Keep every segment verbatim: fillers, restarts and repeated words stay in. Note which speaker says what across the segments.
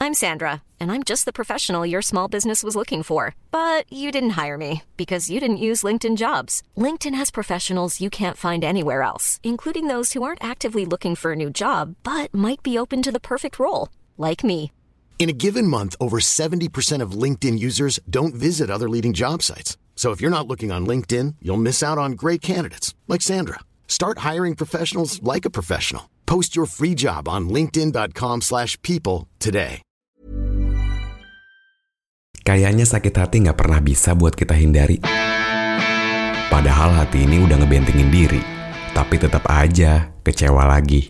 Speaker 1: I'm Sandra, and I'm just the professional your small business was looking for. But you didn't hire me because you didn't use LinkedIn Jobs. LinkedIn has professionals you can't find anywhere else, including those who aren't actively looking for a new job, but might be open to the perfect role, like me.
Speaker 2: In a given month, over seventy percent of LinkedIn users don't visit other leading job sites. So if you're not looking on LinkedIn, you'll miss out on great candidates, like Sandra. Start hiring professionals like a professional. Post your free job on linkedin.com slash people today.
Speaker 3: Kayaknya sakit hati gak pernah bisa buat kita hindari. Padahal hati ini udah ngebentengin diri, tapi tetap aja kecewa lagi.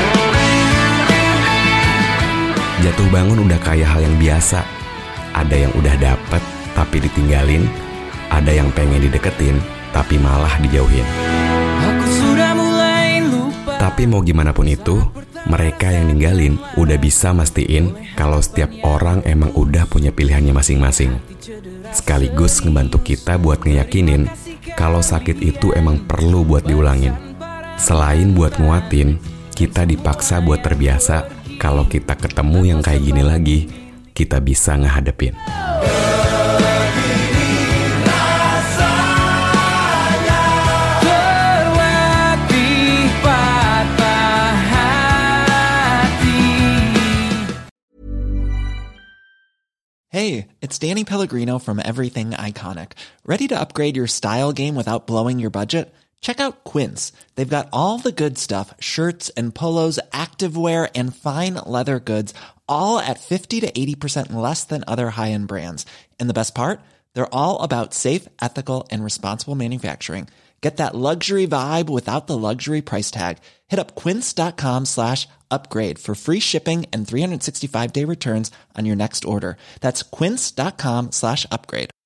Speaker 3: Jatuh bangun udah kayak hal yang biasa. Ada yang udah dapet tapi ditinggalin. Ada yang pengen dideketin tapi malah dijauhin.
Speaker 4: Aku sudah mulai lupa.
Speaker 3: Tapi mau gimana pun itu, mereka yang ninggalin udah bisa mastiin kalau setiap orang emang udah punya pilihannya masing-masing. Sekaligus ngebantu kita buat ngeyakinin kalau sakit itu emang perlu buat diulangin. Selain buat nguatin, kita dipaksa buat terbiasa kalau kita ketemu yang kayak gini lagi, kita bisa ngehadepin.
Speaker 5: Hey, it's Danny Pellegrino from Everything Iconic. Ready to upgrade your style game without blowing your budget? Check out Quince. They've got all the good stuff, shirts and polos, activewear, and fine leather goods, all at fifty to eighty percent less than other high-end brands. And the best part? They're all about safe, ethical, and responsible manufacturing. Get that luxury vibe without the luxury price tag. Hit up quince.com slash upgrade for free shipping and three sixty-five day returns on your next order. That's quince.com slash upgrade.